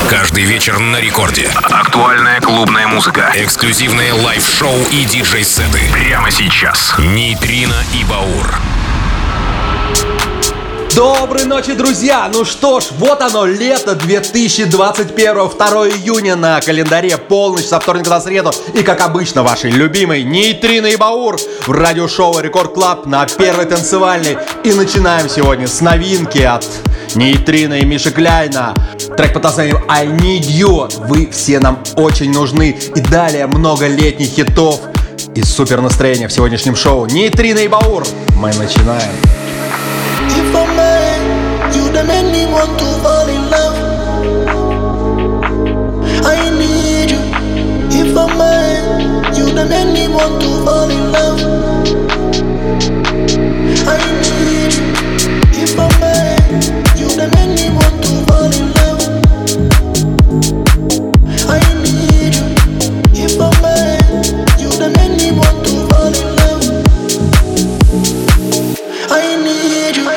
Каждый вечер на рекорде. Актуальная клубная музыка. Эксклюзивные лайв-шоу и диджей-сеты. Прямо сейчас. Нейтрино и Баур. Доброй ночи, друзья! Ну что ж, вот оно, лето 2021, 2 июня на календаре, полночь со вторника на среду. И, как обычно, ваши любимые Нейтрино и Баур в радиошоу Рекорд Клаб на первой танцевальной. И начинаем сегодня с новинки от Нейтрино и Миши Кляйна. Трек под названием I Need You. Вы все нам очень нужны. И далее много летних хитов и супер настроения в сегодняшнем шоу. Нейтрино и Баур. Мы начинаем. If a man, you the make me want to fall in love. I need you. If a man, you the make me want to fall in love. I need you. If a man, you the make me want to fall in love. I need you. If a man, you the make me want to fall in love. I need you.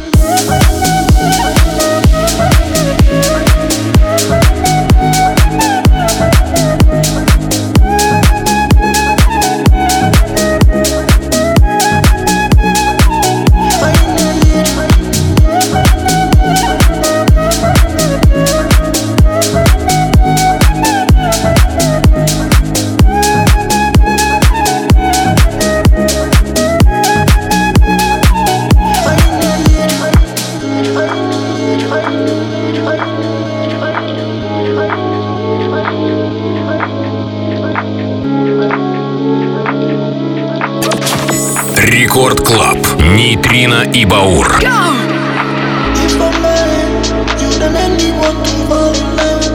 Рекорд Клаб. Нейтрино и Баур. If a man, you the make me want to fall in love.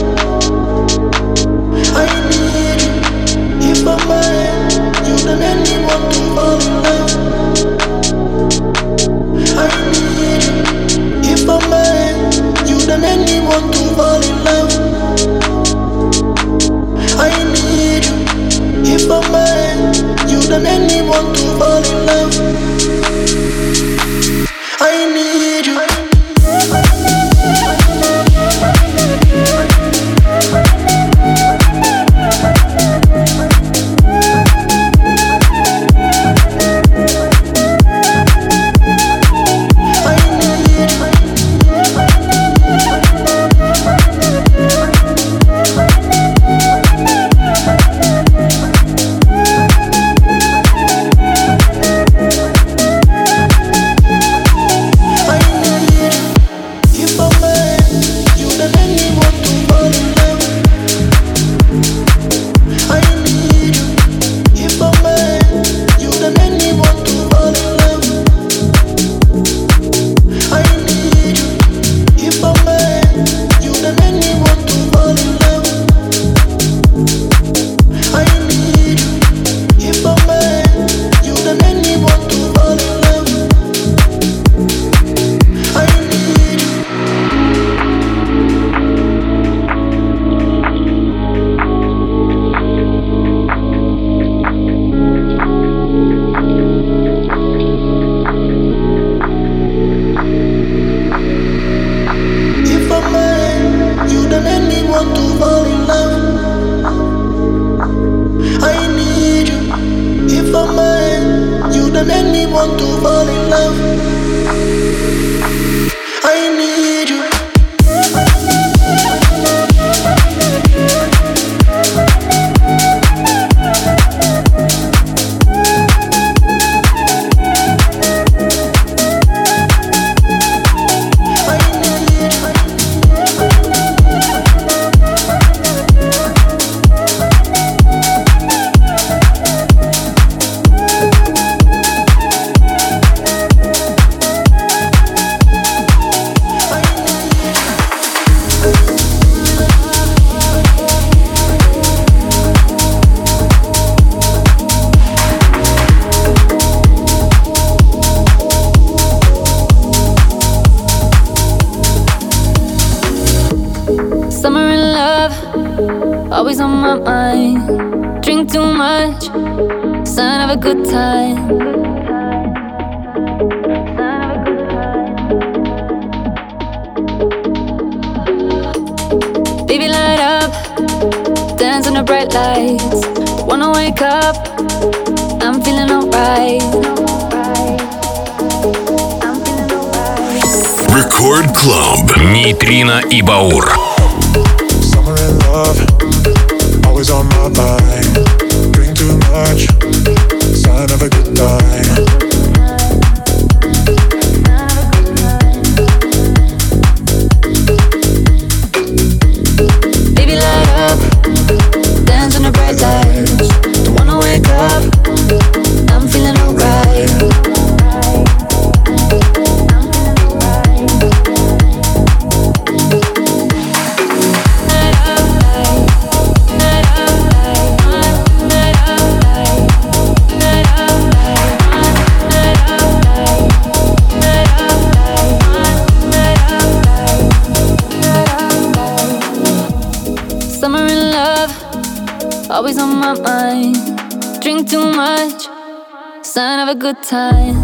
I need you. If a man, you the make me want to fall in love. I need you. If a man, you the make me want to fall in love. I need you. If a man, you the make me want to fall in love. I need you. Always on my mind. Drink too much, sign of a good time. Baby, light up, dance in the bright lights. Wanna wake up, I'm feeling alright. Record Club. Нейтрино и Баур. Summer in love, always on my mind. Drink too much, sign of a good time. Baby, light up, dance in the bright lights. Don't wanna wake up, I'm feeling alright. Summer in love, always on my mind. Drink too much, sign of a good time.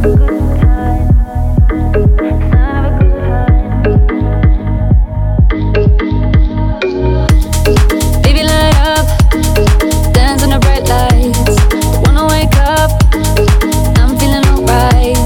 Baby, light up, dance in the bright lights. Wanna wake up, I'm feeling alright.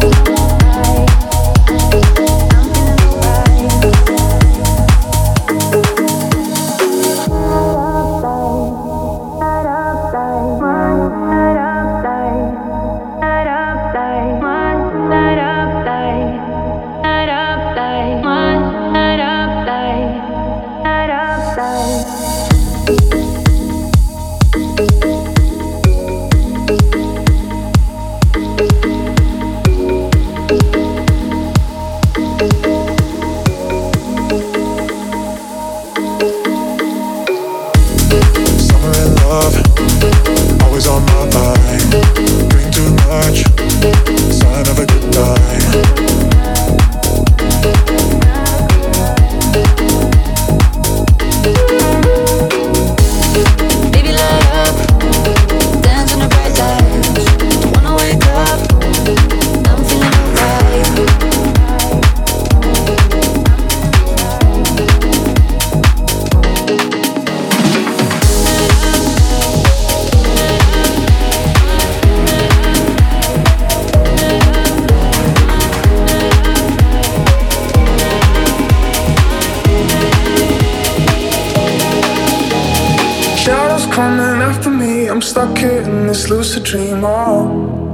I'm stuck here in this lucid dream, oh.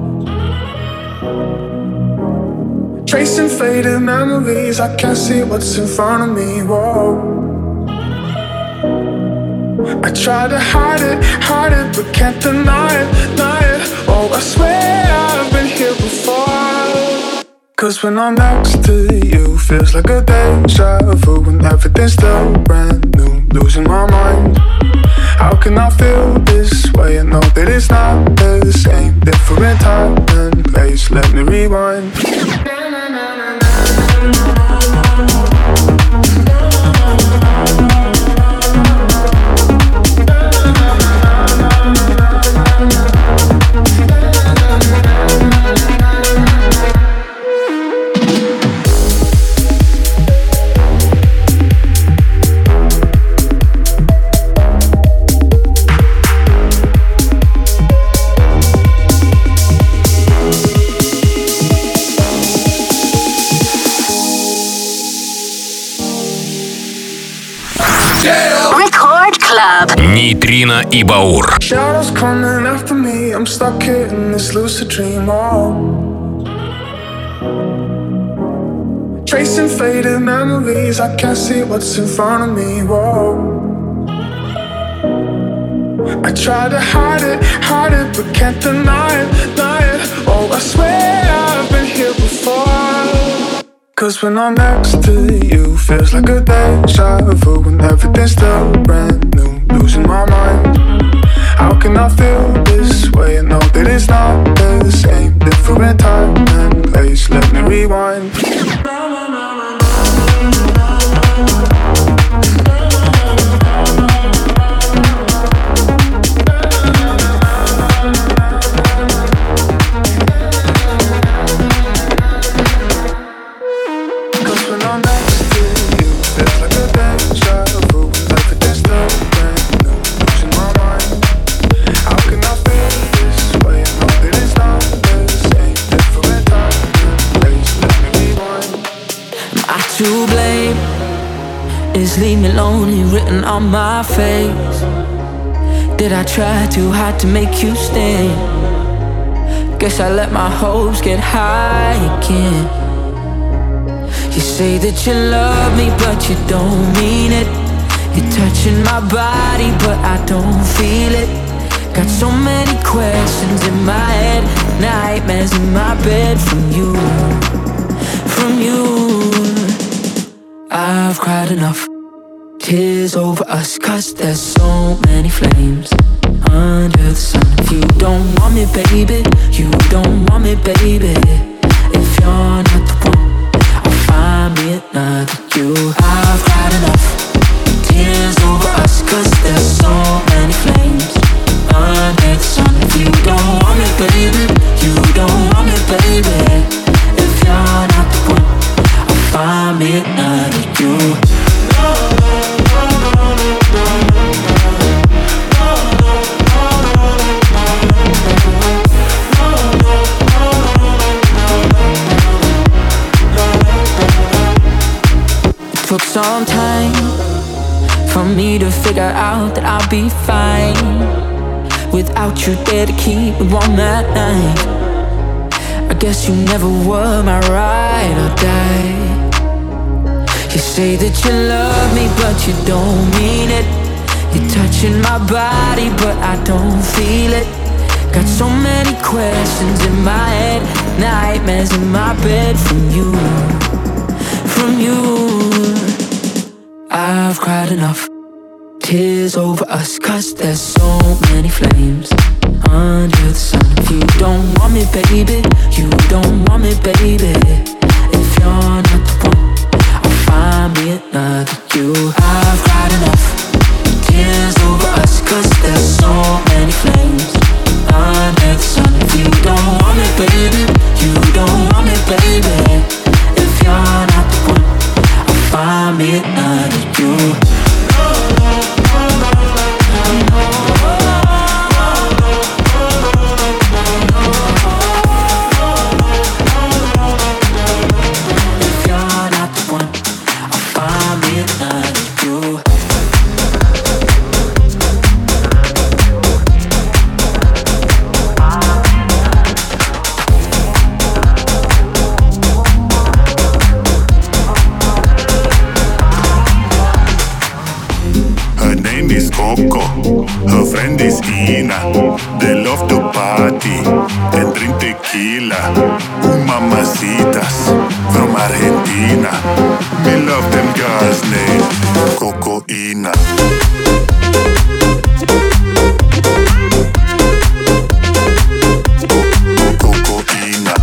Tracing faded memories, I can't see what's in front of me, whoa. I try to hide it, but can't deny it. Oh, I swear I've been here before. Cause when I'm next to you, feels like a deja vu. When everything's still brand new, losing my mind. How can I feel this way? I know that it's not the same. Different time and place, let me rewind. Нейтрино и Баур. Shadows coming after me, I'm stuck here in this lucid dream, oh. Tracing faded memories, I can't see what's in front of me, whoa. I try to hide it, but can't deny it. Oh, I swear I've been here before. Cause when I'm next to you, feels like a deja vu. When everything's still brand new, losing my mind. How can I feel this way? I know that it's not the same. Different time and place, let me rewind. Cause when I'm next to you, feels like a deja vu. Everything's to blame. Is leave me lonely written on my face? Did I try too hard to make you stay? Guess I let my hopes get high again. You say that you love me, but you don't mean it. You're touching my body, but I don't feel it. Got so many questions in my head, nightmares in my bed from you, from you. I've cried enough tears over us, 'cause there's so many flames under the sun. If you don't want me, baby, you don't want me, baby. If you're not the one, I'll find me another you. I've cried enough tears over us, 'cause there's so many flames under the sun. If you don't want me, baby, you don't want me, baby. If you're not the one, I'll find me another you. Took some time for me to figure out that I'll be fine without you there to keep me warm at night. I guess you never were my ride or die. You say that you love me, but you don't mean it. You're touching my body, but I don't feel it. Got so many questions in my head, nightmares in my bed from you, from you. I've cried enough tears over us, 'cause there's so many flames under the sun. If you don't want me, baby, you don't want me, baby. If you're not the one, I'll find me another you. I've cried enough tears over us, 'cause there's so many flames under the sun. If you don't want me, baby, you don't want me, baby. If you're not the one, I'll find me another you. Her friend is Ina. They love to party and drink tequila. Mamacitas from Argentina. Me love them girls named Cocoina. Cocoina.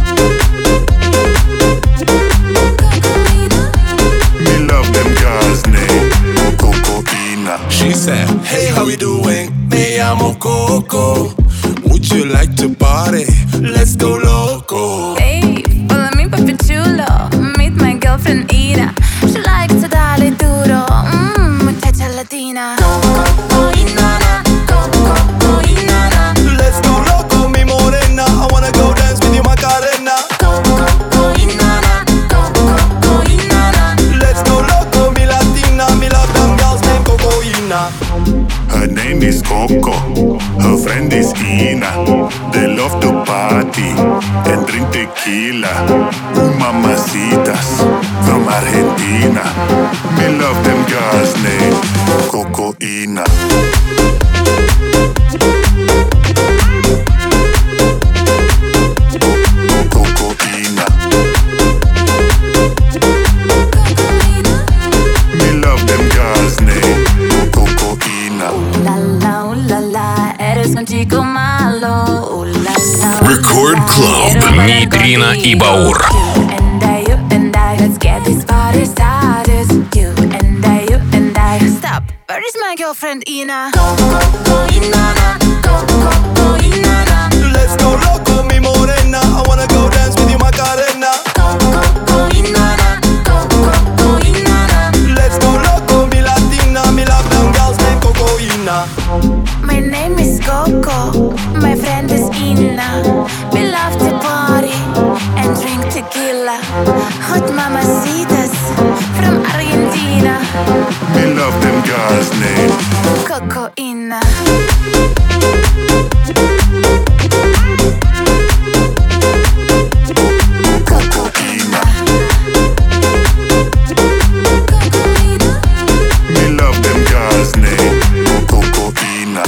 Me love them girls named Cocoina. She said, hey, how we doing? Me llamo Coco. Would you like to party? Let's go loco. Hey, follow me, papi chulo. Meet my girlfriend Ina. She likes to dale duro. Muchacha latina. Cocoinana, cocoinana. Let's go loco, mi morena. I wanna go dance with you, Macarena. Cocoinana, cocoinana. Let's go loco, mi latina. Me love them girls named Cocoina. Her name is Coco, her friend is Ina. They love to party and drink tequila. Mamacitas from Argentina. Me love them girls named Cocoina. Cocoina. Me love them girls named Cocoina. La la, eres un chico malo. La la. Record Club. Нейтрино и Баур. You and I, let's get this party started. You and I. Stop. Where is my girlfriend Ina? Cocoinana, cocoinana. Let's go loco, mi morena. I wanna go dance with you, Macarena. Cocoinana, cocoinana. Let's go loco, mi latina. Me love them girls named Cocoina. My name is Coco. My friend is Ina. We love to party and drink tequila. Hot mamacitas from Cocoina. Me love them girls' name, Cocoina.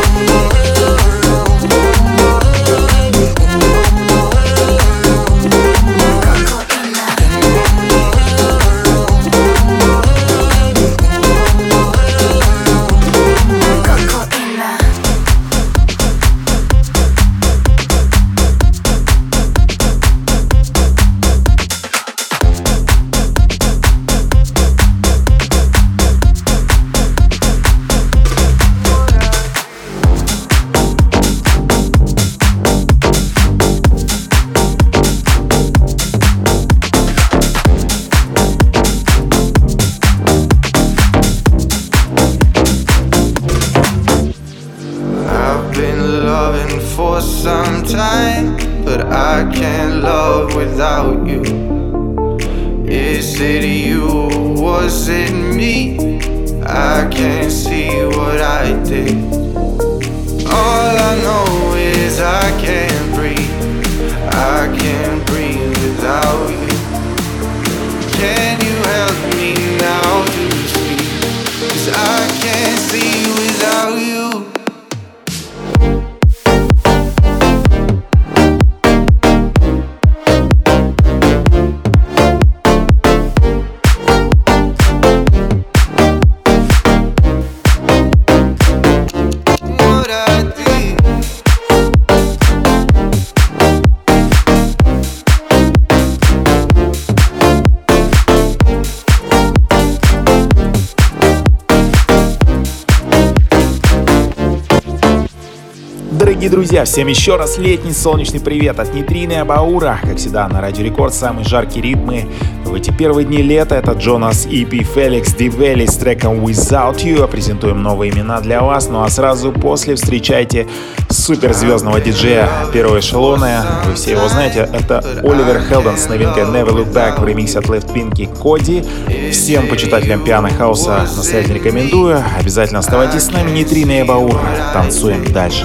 Дорогие друзья, всем еще раз летний солнечный привет от Нитрины и Абаура. Как всегда, на Радио Рекорд самые жаркие ритмы в эти первые дни лета. Это Джонас EP, Феликс Дивели с треком Without You. Презентуем новые имена для вас. Ну а сразу после встречайте суперзвездного диджея первого эшелона. Вы все его знаете. Это Оливер Хелден с новинкой Never Look Back в ремиксе от Left Pinky Коди. Всем почитателям пиано хауса настоятельно рекомендую. Обязательно оставайтесь с нами. Нитрина и Абаур. Танцуем дальше.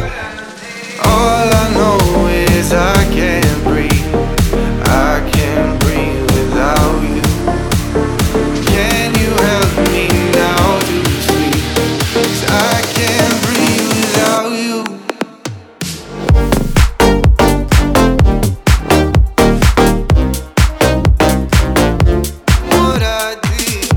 All I know is I can't breathe. I can't breathe without you. Can you help me now to sleep? 'Cause I can't breathe without you. What I did.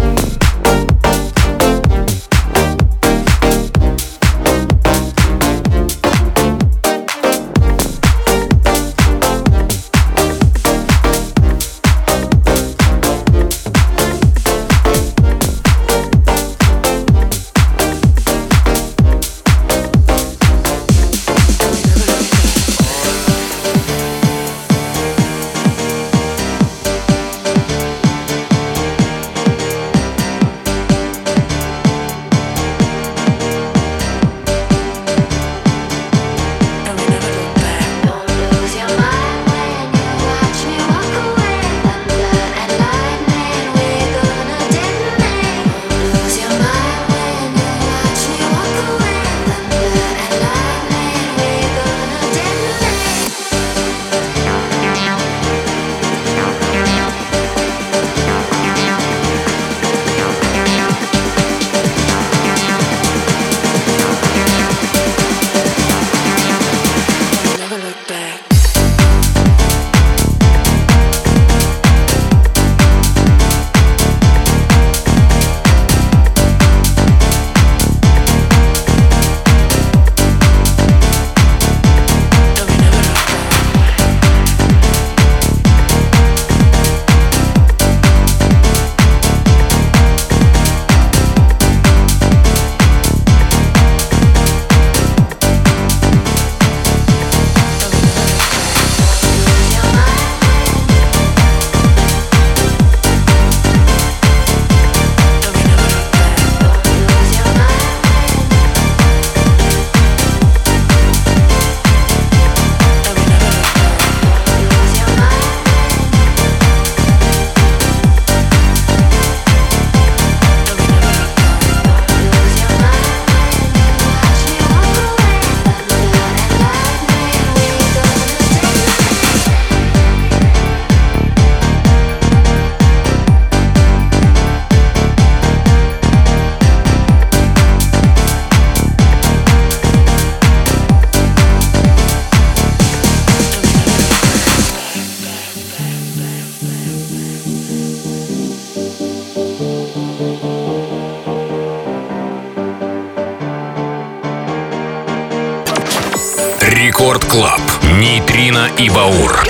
Рекорд Клаб. Нейтрино и Баур.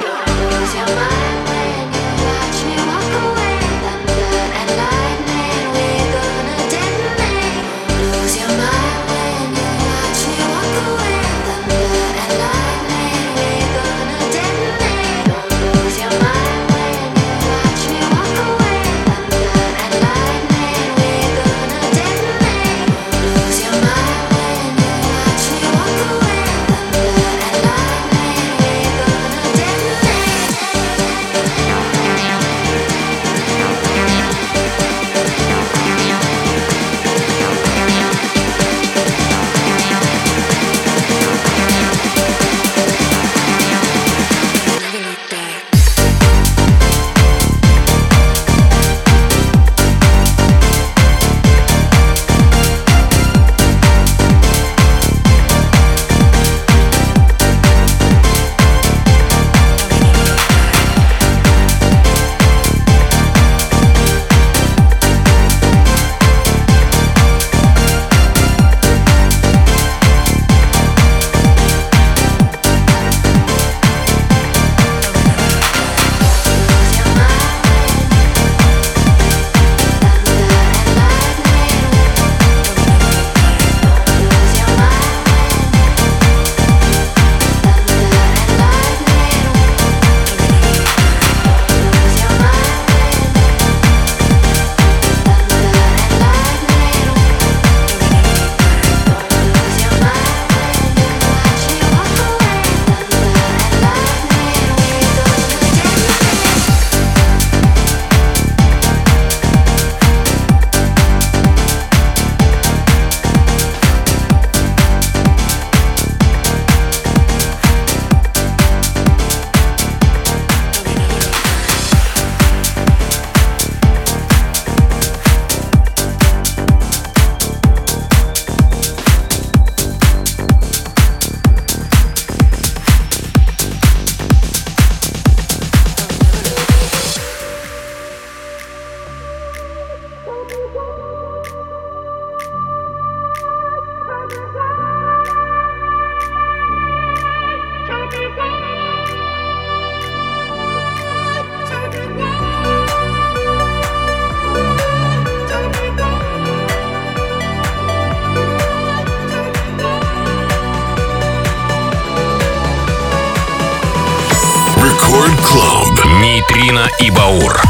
Рекорд Клаб. Нейтрино и Баур.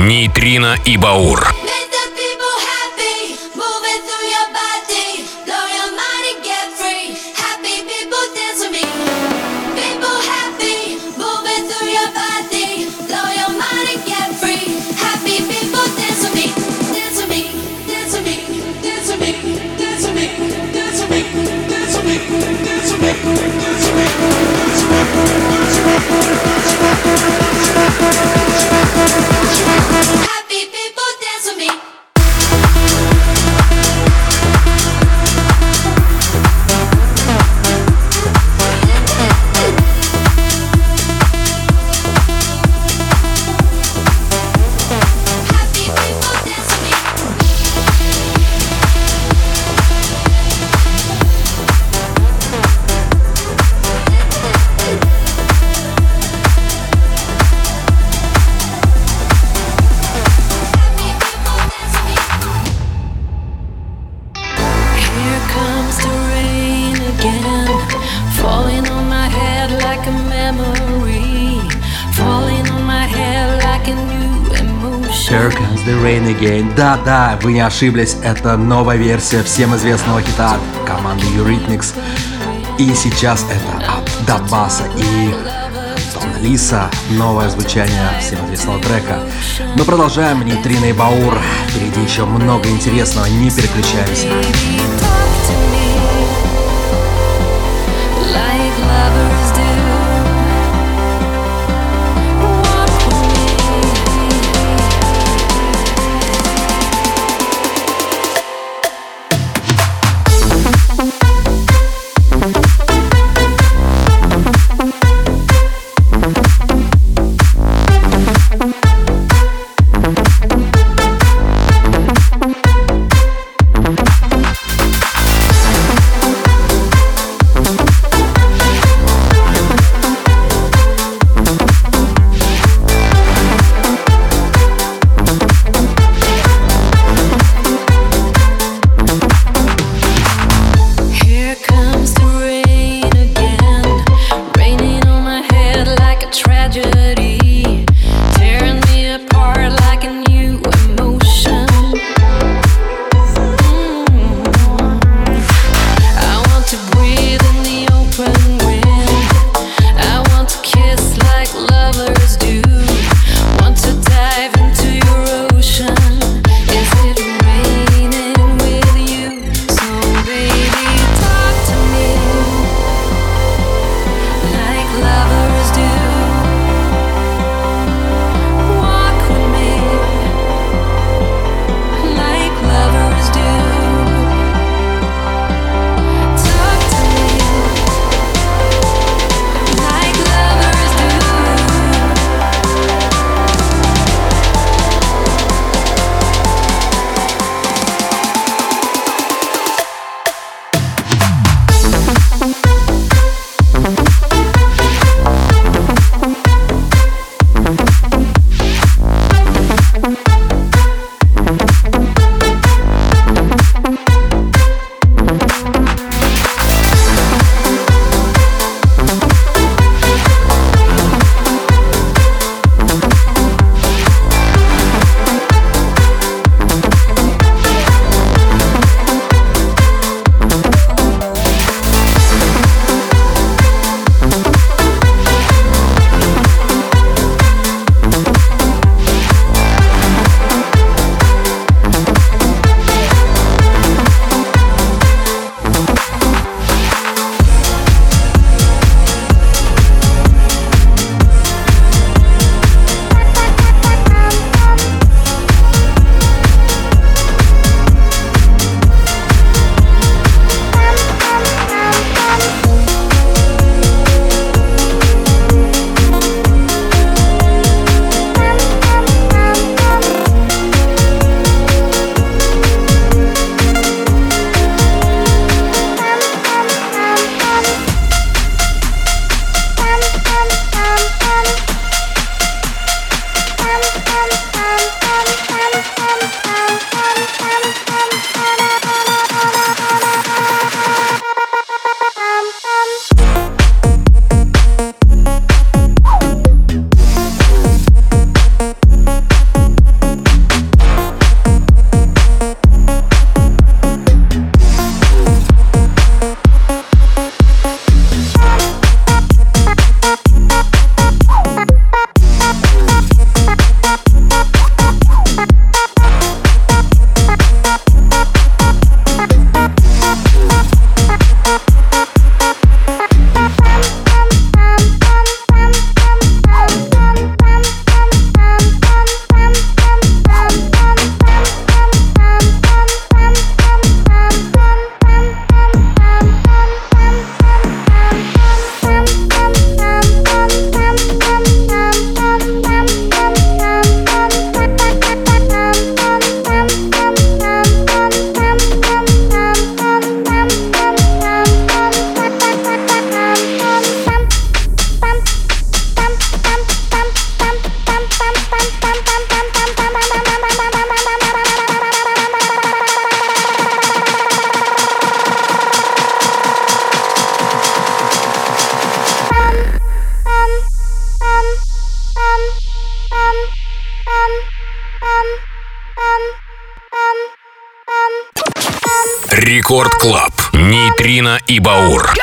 Нейтрино и Баур. Happy people dance with me. Here Comes the Rain Again. Да-да, вы не ошиблись, это новая версия всем известного хита от команды Eurythmics. И сейчас это от Дабаса и Дона Лиса, новое звучание всем известного трека. Мы продолжаем, Нейтрино и Баур. Впереди еще много интересного, не переключаемся. Рекорд Клаб. Нейтрино и Баур.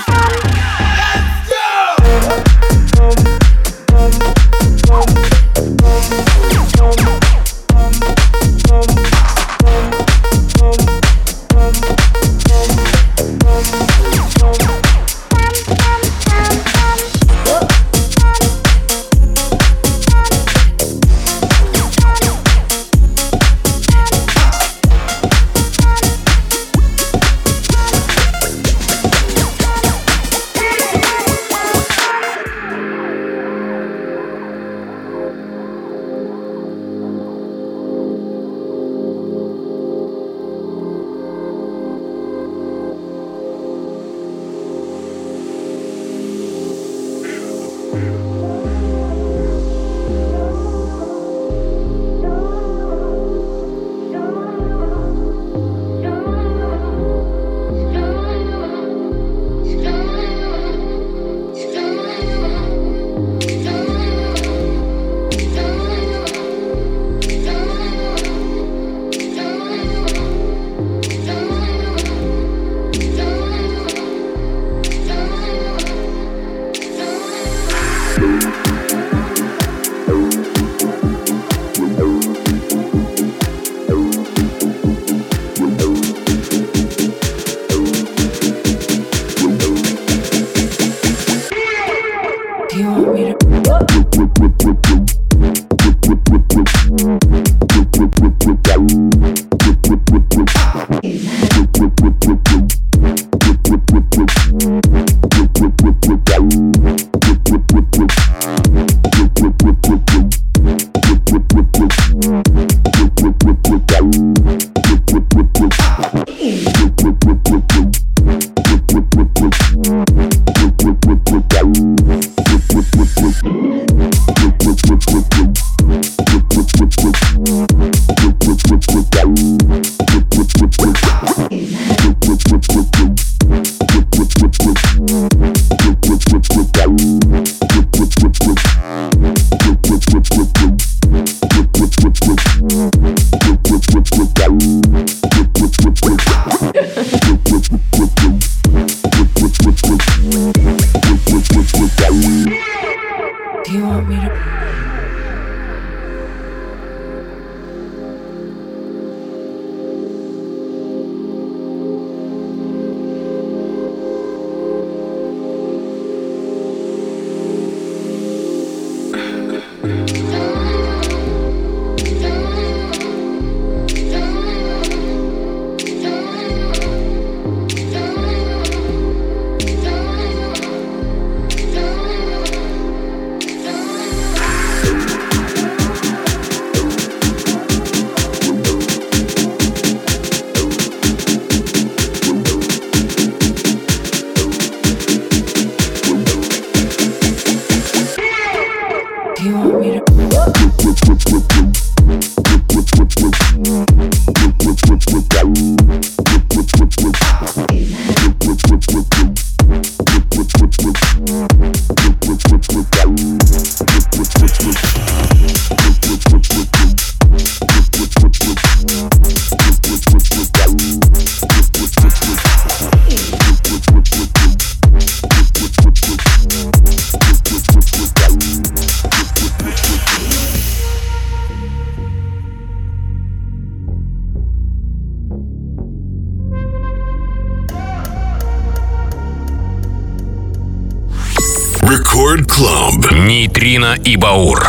Рекорд Клаб. Нейтрино и Баур.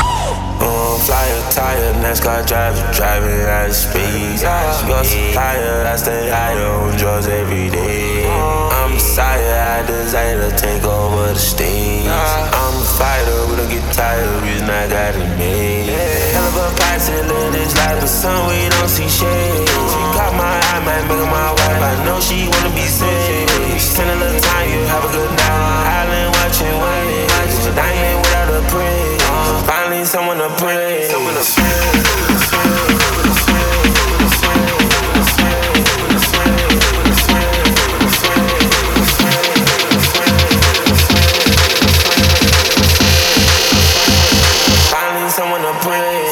Flyer, tire, NASCAR driver, driving at speed. You're so tired, I stay higher on drugs every day. I'm a sire, I desire to take over the stage. I'm a fighter, we don't get tired, reason I got it made. Hell of a price to live this life, but some we don't see shade. She caught my eye, might make her my wife, I know she wanna be saved. Spend a little time, you have a good night. Island watching waves, a diamond without a praise. Finally someone to pray. Finally someone to pray.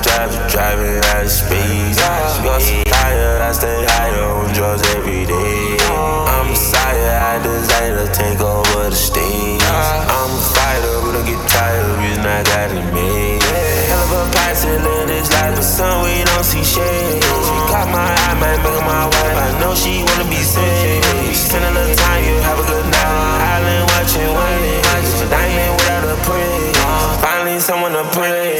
driving at speed. You're so tired, I stay higher on drugs every day. I'm a sire, I desire to take over the stage. I'm a fighter, but I get tired, reason I got it made. Hell of a pilot, live this life, but some we don't see shade. She caught my eye, might make her my wife, I know she wanna be saved. Spend a little time, you have a good night. Island watching waves, diamond without a praise. Finally someone to pray.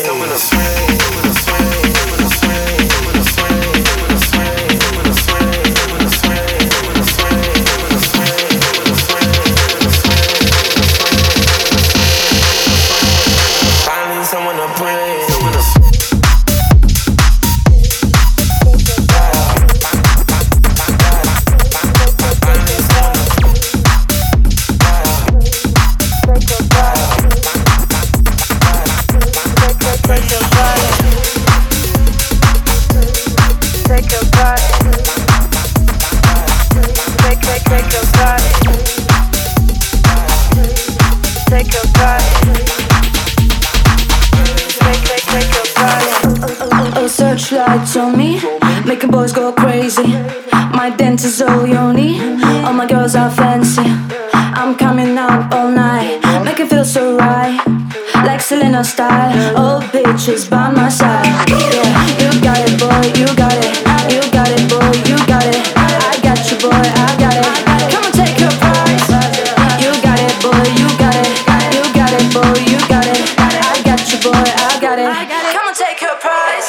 Searchlights on me, making boys go crazy. My dance is all yoni, all my girls are fancy. I'm coming out all night, make it feel so right, like Selena style. Old bitches by my side. Yeah, you got it, boy, you got it. You got it, boy, you got it. I got you, boy, I got it. Come on, take your prize. You got it, boy, you got it. You got it, boy, you got it. I got you, boy, I got it. Come on, take your prize.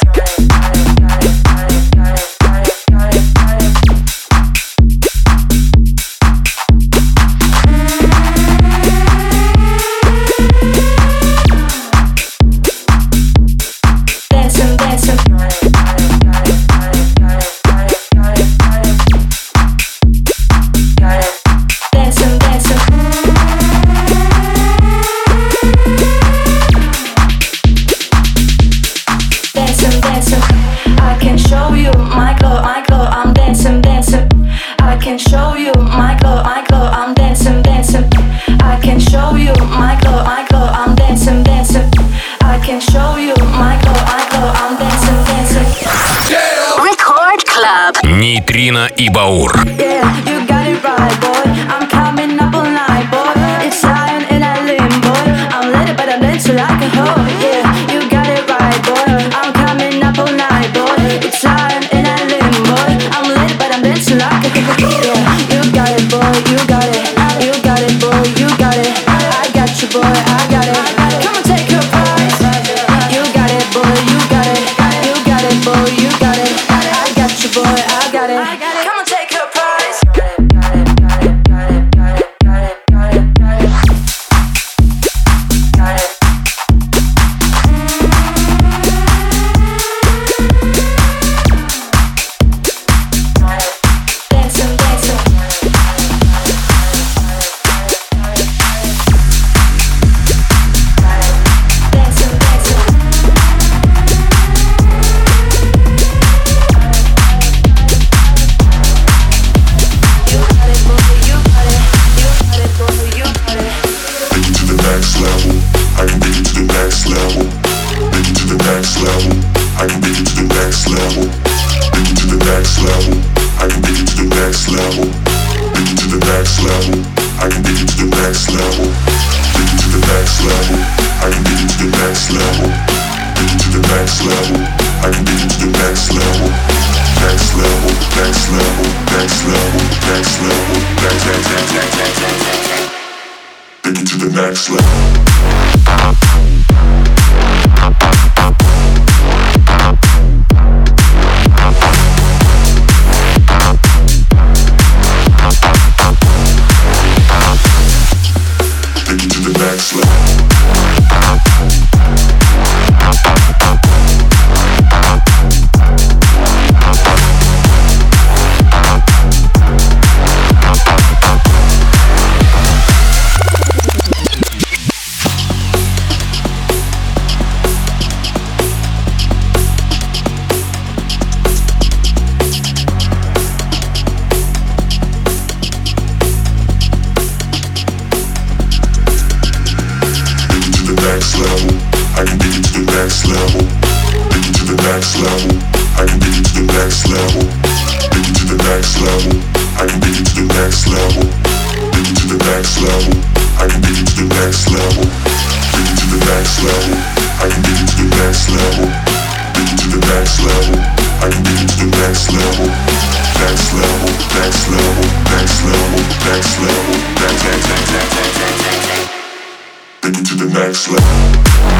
Нейтрино и Баур. level. I can take you to the next level. Take you to the next level. I can take you to the next level. Take you to the next level. I can take you to the next level. Next level, next level, next level, next level, next. Take you to the next level.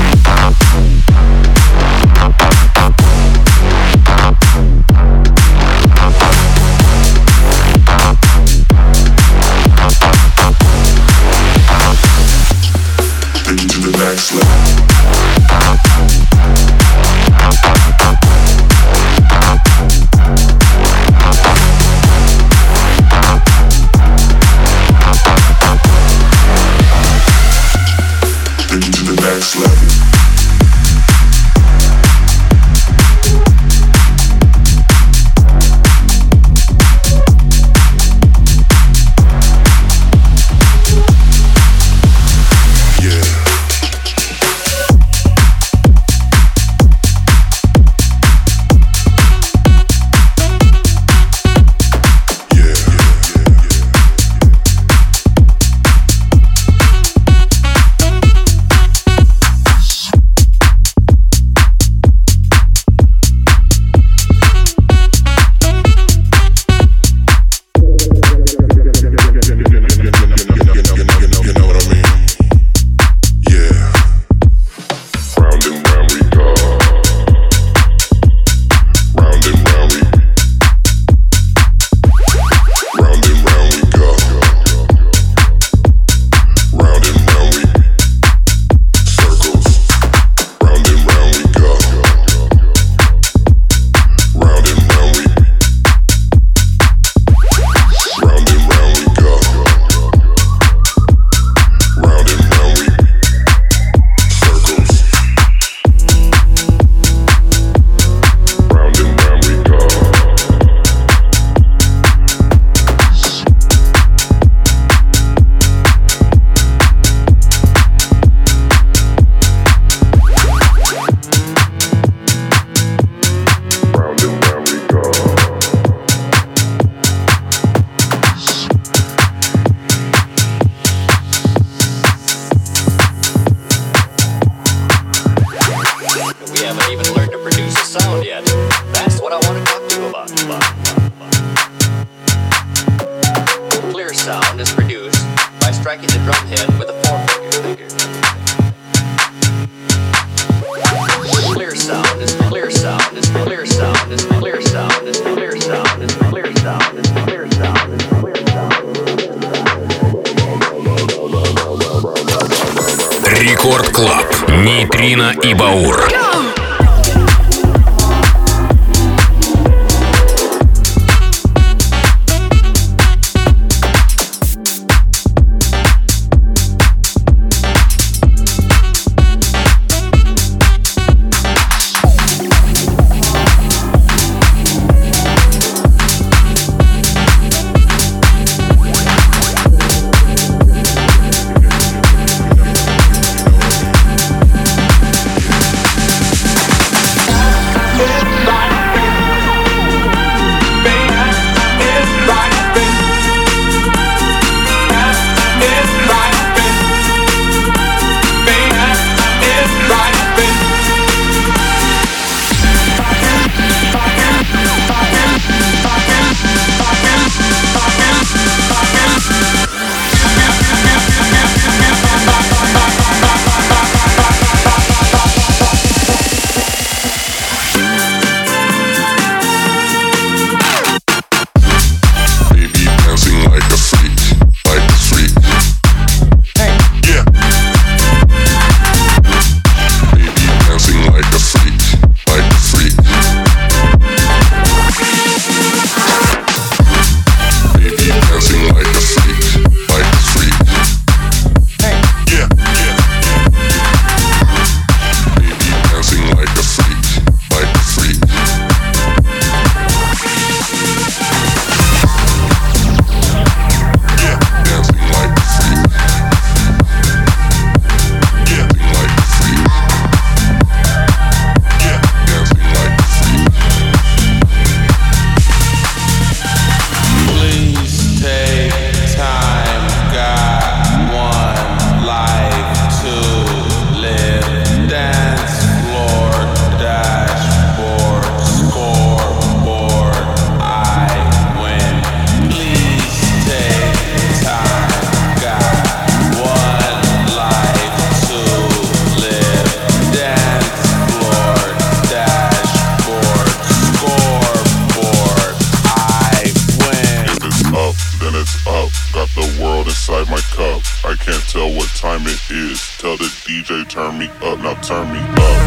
Next level. Take you to the next level. Рекорд Клаб. Нейтрино и Баур. turn me up, now turn me up.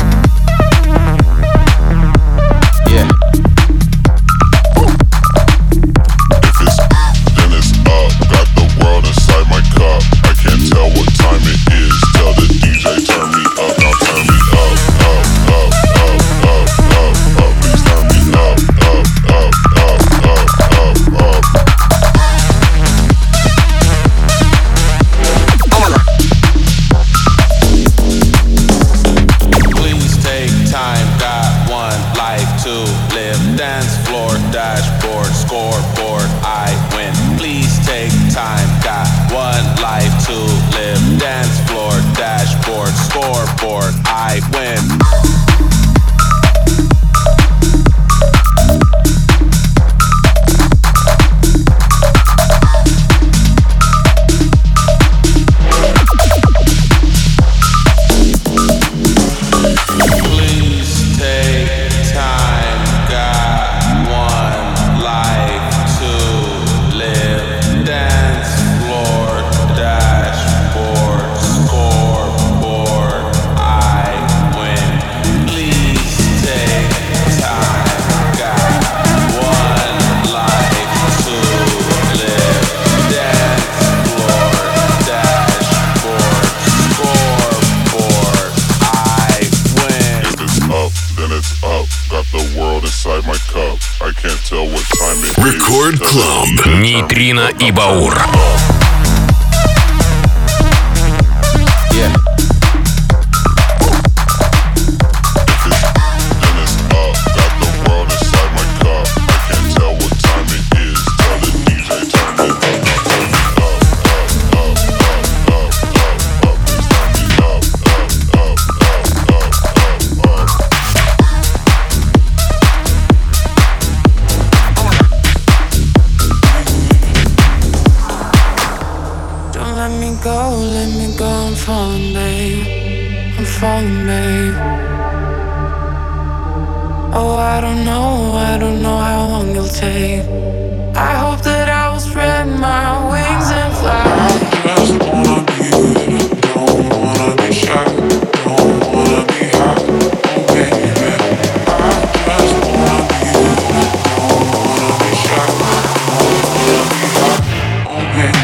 Yeah. If it's then it's up. Got the world inside my cup. I can't tell what time it is. Tell the DJ turn me up, now turn me up, up, up, up, up, up, up. Please turn me up, up, up, up, up, up, up. Please take time, got one life to live. Dance floor, dashboard, scoreboard, I win. Please take time, got one life to live. Dance floor, dashboard, scoreboard, I win. Please take time, got one life to live. Dance floor, dashboard, scoreboard, I win. Please take time, got one life to live. Dance floor, dashboard, scoreboard, I win. If it's up, then it's up. Got the world inside my cup. I can't tell what time it is. Рекорд Клаб. Нейтрино и Баур. Yeah. Then it's up. Got the world inside my cup. I can't tell what time it is. Tell the DJ turn me up, now turn me up, up, up, up, up, up, up. Please turn me up, up, up, up, up, up, up. Don't let me go, I'm falling, babe. I'm falling, babe. Oh, I don't know how long it'll take. I hope that I will spread my wings and fly. I just wanna be good, don't wanna be shy, don't wanna be hot, oh baby. I just wanna be good, don't wanna be shy, don't wanna be hot, oh baby.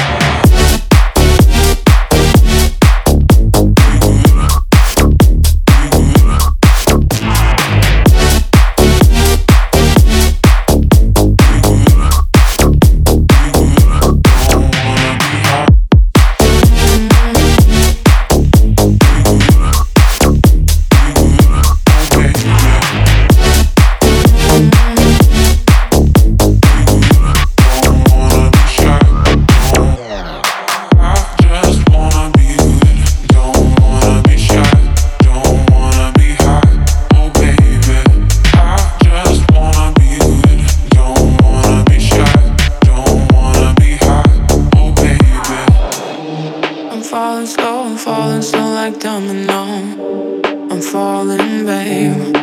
falling slow like domino. I'm falling, babe.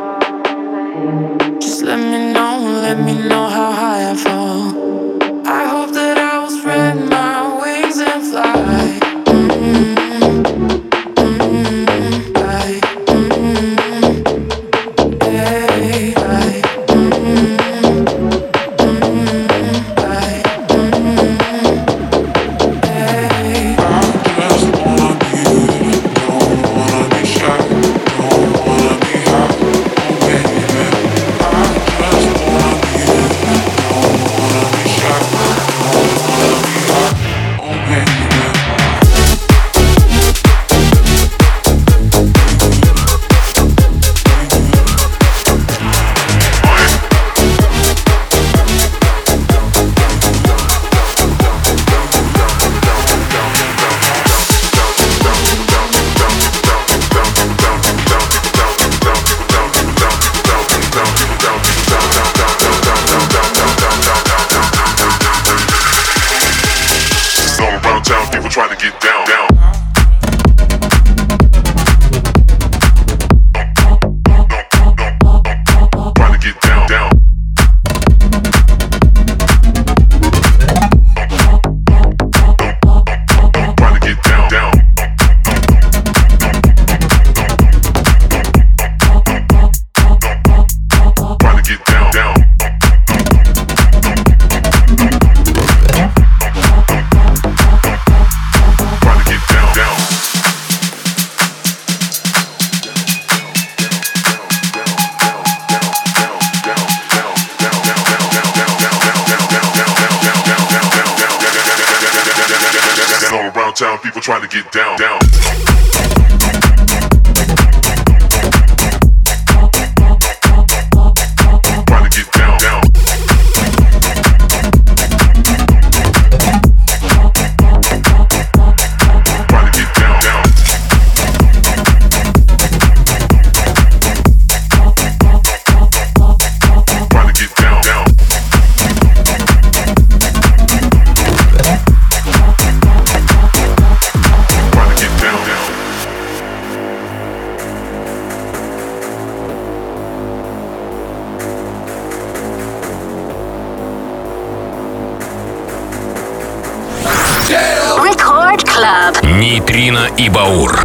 Just let me know how high I fall. I hope that I will spread my wings and fly. town people trying to get down, down. Нейтрино и Баур.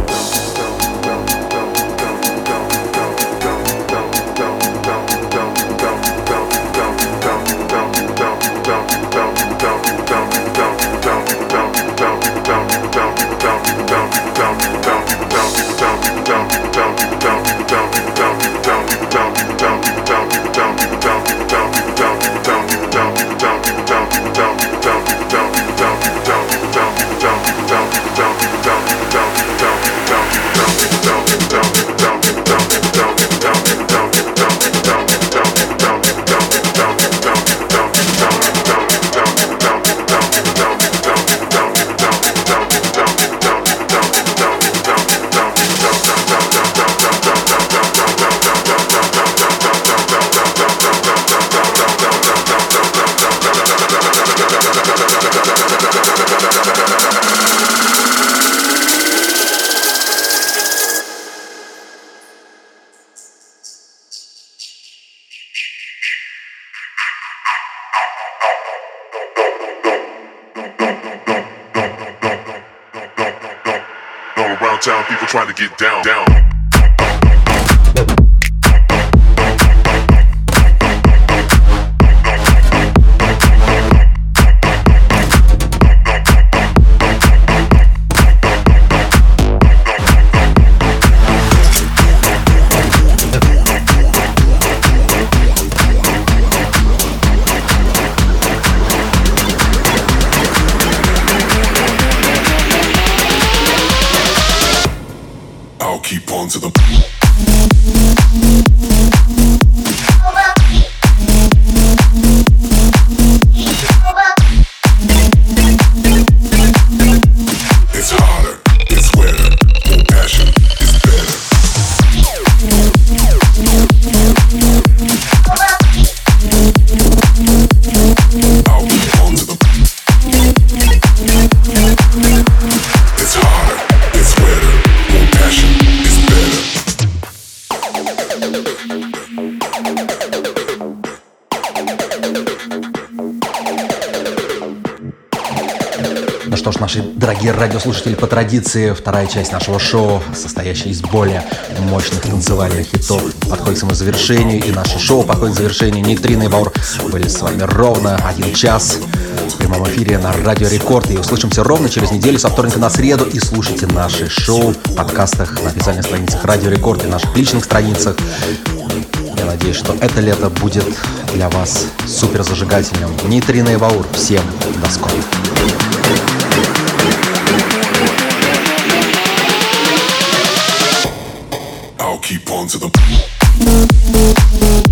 Town people trying to get down, down. Keep on to the it's harder, it's wetter, more passion is better. I'll keep on to the it's harder, it's wetter, more passion is better. Ну что ж, наши дорогие радиослушатели, по традиции, вторая часть нашего шоу, состоящая из более мощных танцевальных хитов, подходит к своему завершению, и наше шоу подходит к завершению. Нейтрино и Баур были с вами ровно 1 час в прямом эфире на Радио Рекорд, и услышимся ровно через неделю со вторника на среду, и слушайте наши шоу в подкастах на официальных страницах Радио Рекорд и наших личных страницах. Я надеюсь, что это лето будет для вас супер зажигательным. Нейтрино и Баур, всем до скорого. I'll keep on to the